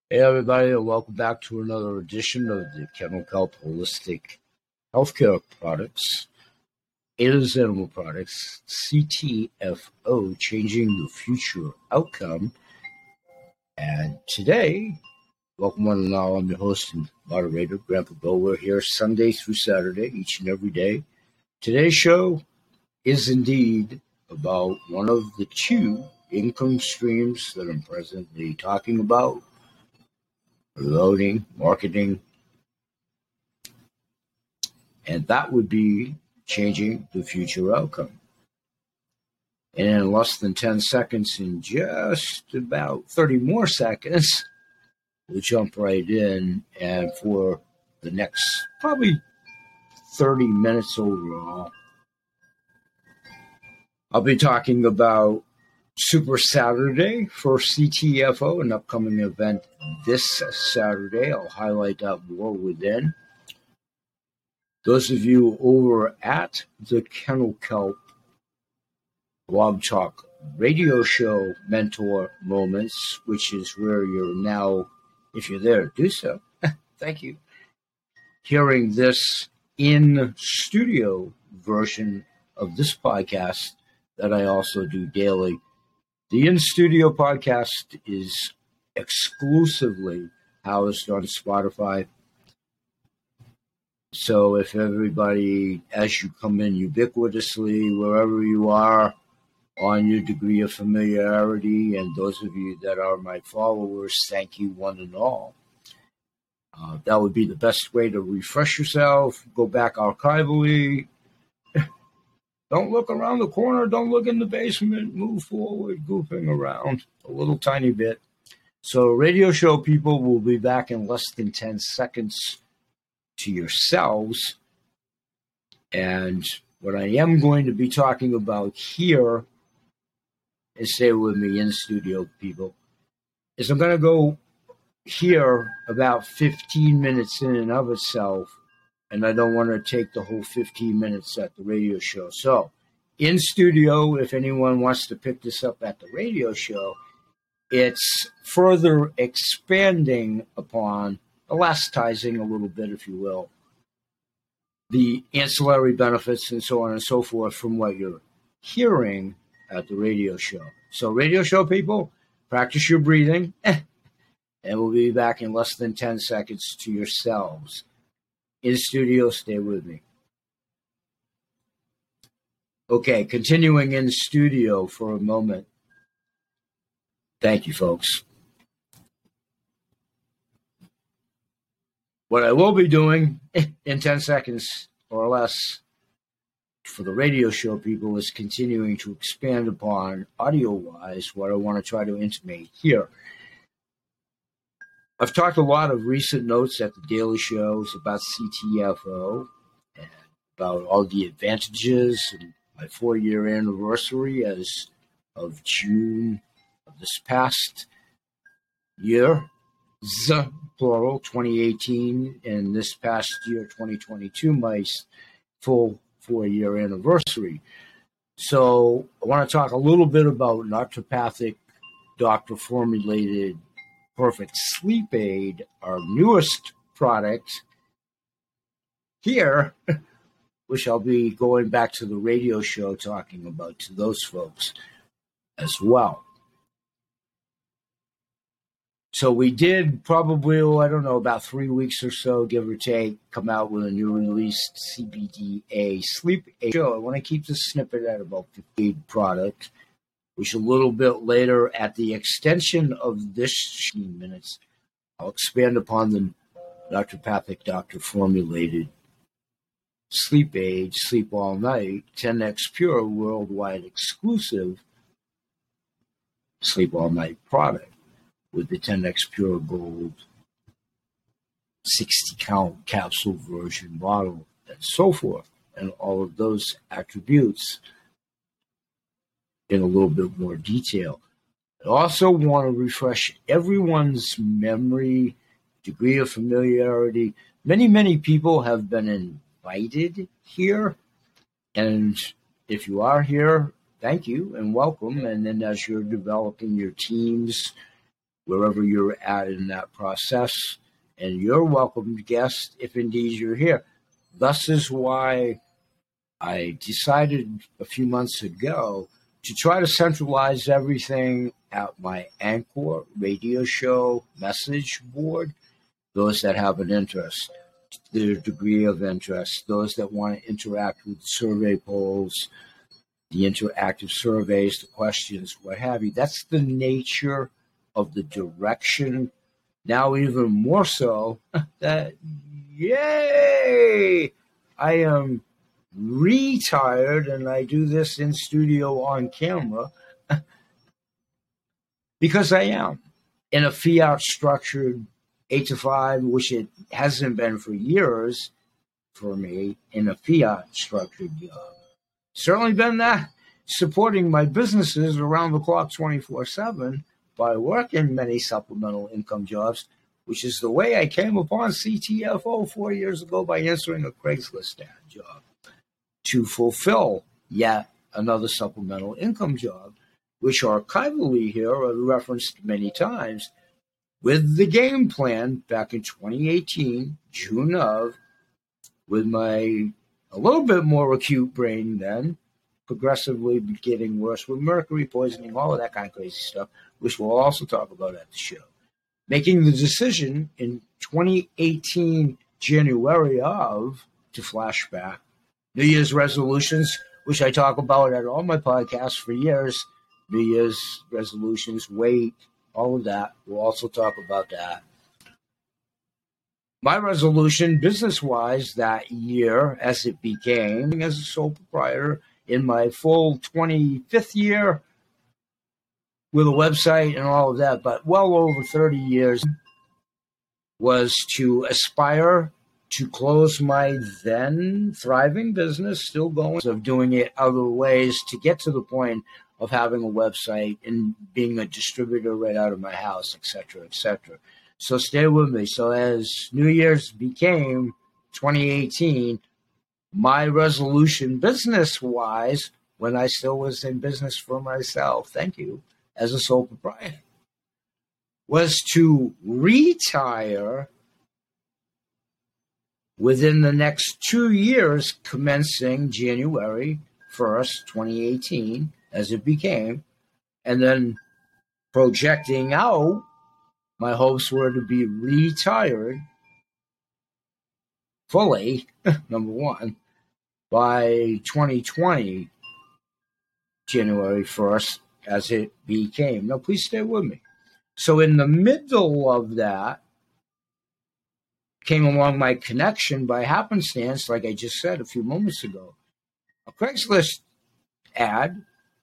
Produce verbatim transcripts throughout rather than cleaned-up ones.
Hey everybody, and welcome back to another edition of the Kennel Kelp Holistic Healthcare Products. It is Animal Products, C T F O, Changing the Future Outcome. And today, welcome one and all, I'm your host and moderator, Grandpa Bill. We're here Sunday through Saturday, each and every day. Today's show is indeed about one of the two income streams that I'm presently talking about. Loading, marketing, and that would be changing the future outcome. And in less than ten seconds, in just about thirty more seconds, we'll jump right in. And for the next probably thirty minutes overall, I'll be talking about Super Saturday for C T F O, an upcoming event this Saturday. I'll highlight that more within. Those of you over at the Kennel Kelp Blog Talk radio show Mentor Moments, which is where you're now, if you're there, do so. Thank you. Hearing this in studio version of this podcast that I also do daily. The in studio podcast is exclusively housed on Spotify. So if everybody, as you come in ubiquitously, wherever you are, on your degree of familiarity, and those of you that are my followers, thank you one and all. Uh, that would be the best way to refresh yourself, go back archivally. Don't look around the corner, don't look in the basement, move forward, goofing around a little tiny bit. So radio show people will be back in less than ten seconds to yourselves. And what I am going to be talking about here, and stay with me in studio people, is I'm going to go here about fifteen minutes in and of itself, and I don't want to take the whole fifteen minutes at the radio show. So in studio, if anyone wants to pick this up at the radio show, it's further expanding upon, elasticizing a little bit, if you will, the ancillary benefits and so on and so forth from what you're hearing at the radio show. So radio show people, practice your breathing, and we'll be back in less than ten seconds to yourselves. In studio, stay with me. Okay, continuing in studio for a moment. Thank you, folks. What I will be doing in ten seconds or less for the radio show people is continuing to expand upon audio-wise what I want to try to intimate here. I've talked a lot of recent notes at the daily shows about C T F O and about all the advantages and my four-year anniversary as of June of this past year, Z, plural, twenty eighteen, and this past year, twenty twenty-two, my full four-year anniversary. So I want to talk a little bit about naturopathic doctor-formulated Perfect Sleep Aid, our newest product here, which I'll be going back to the radio show talking about to those folks as well. So we did probably, oh, I don't know, about three weeks or so, give or take, come out with a new released C B D A sleep aid show. I want to keep this snippet at about fifteen product, which a little bit later at the extension of this fifteen minutes, I'll expand upon the naturopathic doctor formulated sleep aid, Sleep All Night, ten X Pure worldwide exclusive Sleep All Night product with the ten X Pure Gold sixty count capsule version bottle and so forth, and all of those attributes in a little bit more detail. I also want to refresh everyone's memory, degree of familiarity. Many, many people have been invited here, and if you are here, thank you and welcome. And then as you're developing your teams, wherever you're at in that process. And you're welcome, guest, if indeed you're here. Thus is why I decided a few months ago to try to centralize everything at my Anchor radio show message board. Those that have an interest, their degree of interest, those that want to interact with survey polls, the interactive surveys, the questions, what have you. That's the nature of the direction. Now even more so that, yay, I am retired and I do this in studio on camera because I am in a fiat structured eight to five, which it hasn't been for years for me, in a fiat structured job. Certainly been that, supporting my businesses around the clock twenty-four seven by working many supplemental income jobs, which is the way I came upon C T F O four years ago by answering a Craigslist ad job to fulfill yet another supplemental income job, which archivally here are referenced many times, with the game plan back in twenty eighteen, June of, with my a little bit more acute brain then, progressively getting worse with mercury poisoning, all of that kind of crazy stuff, which we'll also talk about at the show. Making the decision in twenty eighteen, January of, to flashback, New Year's resolutions, which I talk about at all my podcasts for years, New Year's resolutions, weight, all of that. We'll also talk about that. My resolution, business-wise, that year, as it became, as a sole proprietor, in my full twenty-fifth year, with a website and all of that, but well over thirty years, was to aspire to close my then thriving business, still going, of doing it other ways to get to the point of having a website and being a distributor right out of my house, et cetera, et cetera. So stay with me. So as New Year's became twenty eighteen, my resolution business-wise, when I still was in business for myself, thank you, as a sole proprietor, was to retire within the next two years, commencing January first, twenty eighteen, as it became, and then projecting out, my hopes were to be retired fully, number one, by twenty twenty, January first, as it became. Now, please stay with me. So in the middle of that, came along my connection by happenstance, like I just said a few moments ago, a Craigslist ad,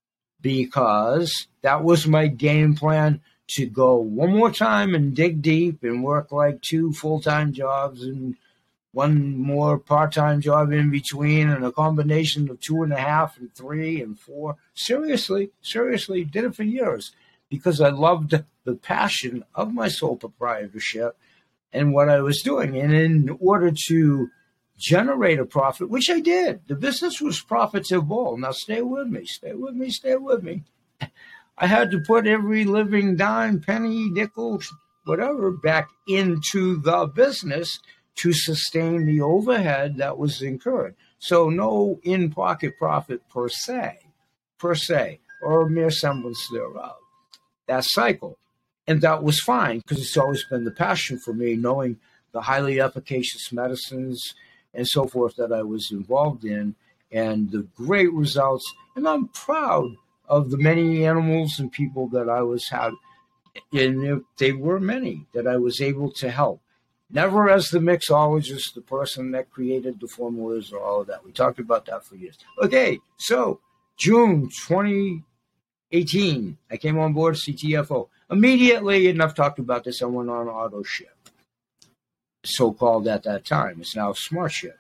because that was my game plan, to go one more time and dig deep and work like two full-time jobs and one more part-time job in between, and a combination of two and a half and three and four. Seriously, seriously, did it for years because I loved the passion of my sole proprietorship and what I was doing. And in order to generate a profit, which I did, the business was profitable. Now stay with me, stay with me, stay with me. I had to put every living dime, penny, nickel, whatever, back into the business to sustain the overhead that was incurred. So no in-pocket profit per se, per se, or a mere semblance thereof. That cycle. And that was fine because it's always been the passion for me, knowing the highly efficacious medicines and so forth that I was involved in and the great results. And I'm proud of the many animals and people that I was having. And they were many that I was able to help. Never as the mixologist, the person that created the formulas or all of that. We talked about that for years. Okay, so June twenty eighteen, I came on board C T F O. Immediately, and I've talked about this, I went on auto ship, so-called at that time. It's now Smart Ship.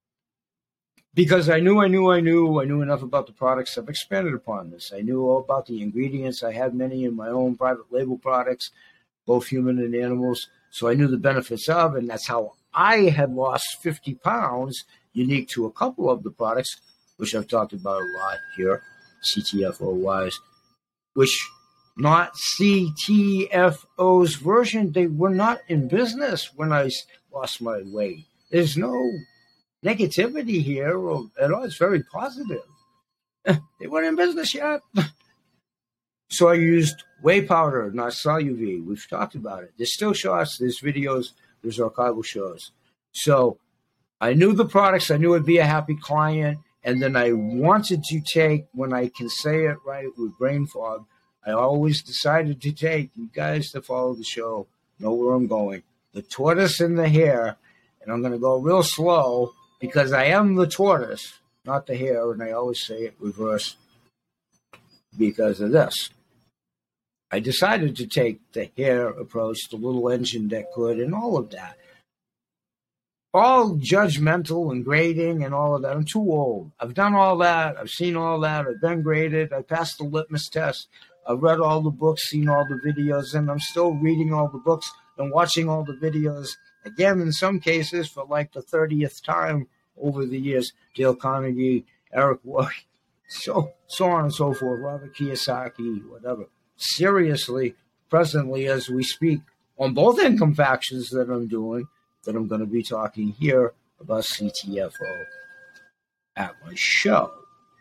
Because I knew, I knew, I knew, I knew enough about the products. I've expanded upon this. I knew all about the ingredients. I had many in my own private label products, both human and animals. So I knew the benefits of, and that's how I had lost fifty pounds, unique to a couple of the products, which I've talked about a lot here, C T F O-wise, which not C T F O's version. They were not in business when I lost my weight. There's no negativity here or at all. It's very positive. They weren't in business yet. So I used whey powder, not Solu-V. We've talked about it. There's still shots, there's videos, there's archival shows. So I knew the products. I knew I'd be a happy client. And then I wanted to take, when I can say it right with brain fog, I always decided to take, you guys that follow the show know where I'm going, the tortoise and the hare. And I'm going to go real slow because I am the tortoise, not the hare. And I always say it reverse because of this. I decided to take the hare approach, the little engine that could, and all of that. All judgmental and grading and all of that. I'm too old. I've done all that. I've seen all that. I've been graded. I passed the litmus test. I've read all the books, seen all the videos, and I'm still reading all the books and watching all the videos. Again, in some cases, for like the thirtieth time over the years. Dale Carnegie, Eric Worre, so, so on and so forth, Robert Kiyosaki, whatever. Seriously, presently as we speak, on both income factions that I'm doing, that I'm going to be talking here about C T F O at my show.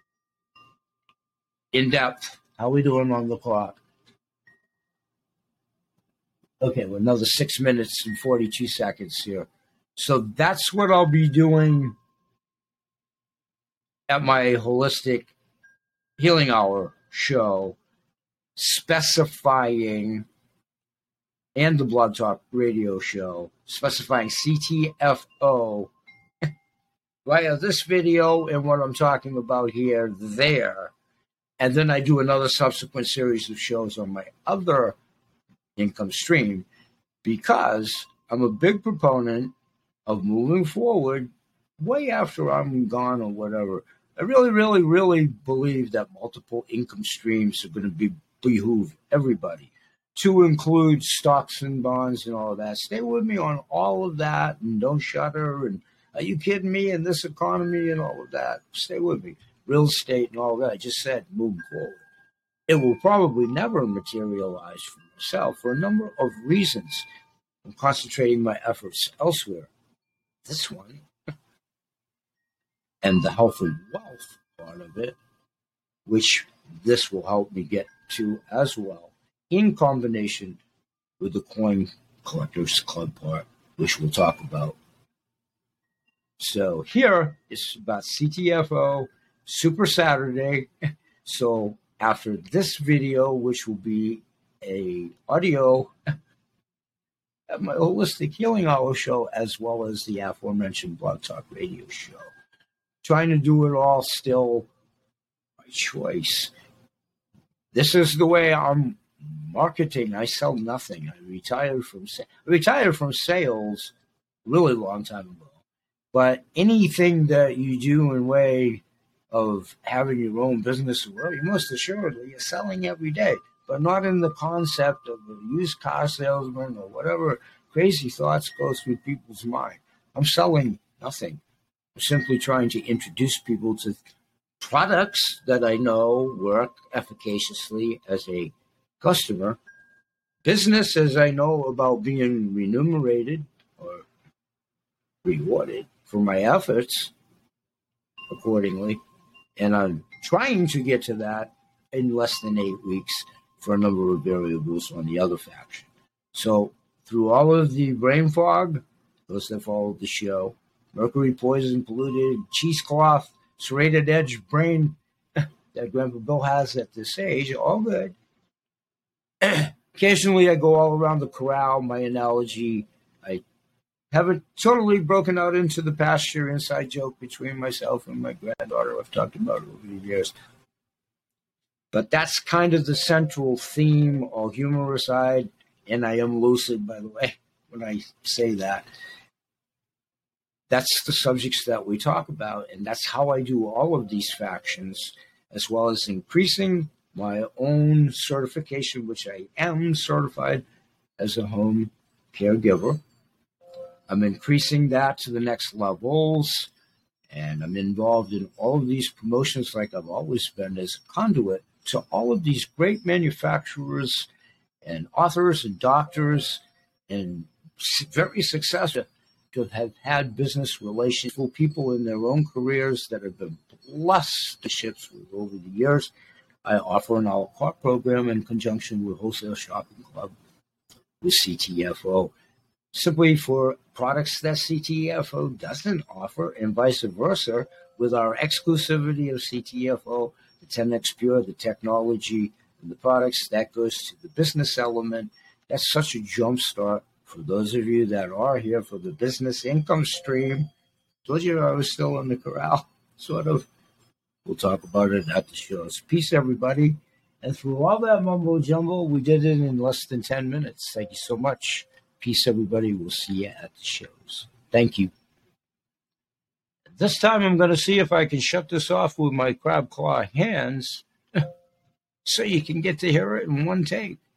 In depth. How we doing on the clock? Okay, well, another six minutes and forty-two seconds here. So that's what I'll be doing at my Holistic Healing Hour show, specifying, and the Blog Talk radio show, specifying C T F O via this video and what I'm talking about here, there. And then I do another subsequent series of shows on my other income stream because I'm a big proponent of moving forward way after I'm gone or whatever. I really, really, really believe that multiple income streams are going to be behoove everybody, to include stocks and bonds and all of that. Stay with me on all of that and don't shudder. And are you kidding me? In this economy and all of that. Stay with me. Real estate and all that. I just said moving forward. It will probably never materialize for myself for a number of reasons. I'm concentrating my efforts elsewhere. This one and the health and wealth part of it, which this will help me get to as well, in combination with the Coin Collectors Club part, which we'll talk about. So here it's about C T F O, Super Saturday. So after this video, which will be a audio at my Holistic Healing Hour show, as well as the aforementioned Blog Talk radio show. Trying to do it all still by choice. This is the way I'm marketing. I sell nothing. I retired from sa- I retired from sales a really long time ago. But anything that you do in way of having your own business, well, you most assuredly are selling every day, but not in the concept of a used car salesman or whatever crazy thoughts go through people's mind. I'm selling nothing. I'm simply trying to introduce people to products that I know work efficaciously as a customer, business as I know about being remunerated or rewarded for my efforts accordingly. And I'm trying to get to that in less than eight weeks for a number of variables on the other faction. So through all of the brain fog, those that follow the show, mercury poison, polluted, cheesecloth, serrated edge brain that Grandpa Bill has at this age, all good. Occasionally I go all around the corral, my analogy. I haven't totally broken out into the pasture, inside joke between myself and my granddaughter. I've talked about it over the years. But that's kind of the central theme, all humor aside, and I am lucid, by the way, when I say that. That's the subjects that we talk about, and that's how I do all of these factions, as well as increasing my own certification, which I am certified as a home caregiver. I'm increasing that to the next levels, and I'm involved in all of these promotions like I've always been as a conduit to all of these great manufacturers and authors and doctors and very successful to have had business relations with people in their own careers that have been blessed to ships with over the years. I offer an a la carte program in conjunction with Wholesale Shopping Club with C T F O, simply for products that C T F O doesn't offer, and vice versa, with our exclusivity of C T F O, the ten X Pure, the technology, and the products, that goes to the business element. That's such a jump start for those of you that are here for the business income stream. Told you I was still in the corral, sort of. We'll talk about it at the shows. Peace, everybody. And through all that mumbo jumbo, we did it in less than ten minutes. Thank you so much. Peace, everybody. We'll see you at the shows. Thank you. This time I'm going to see if I can shut this off with my crab claw hands so you can get to hear it in one take.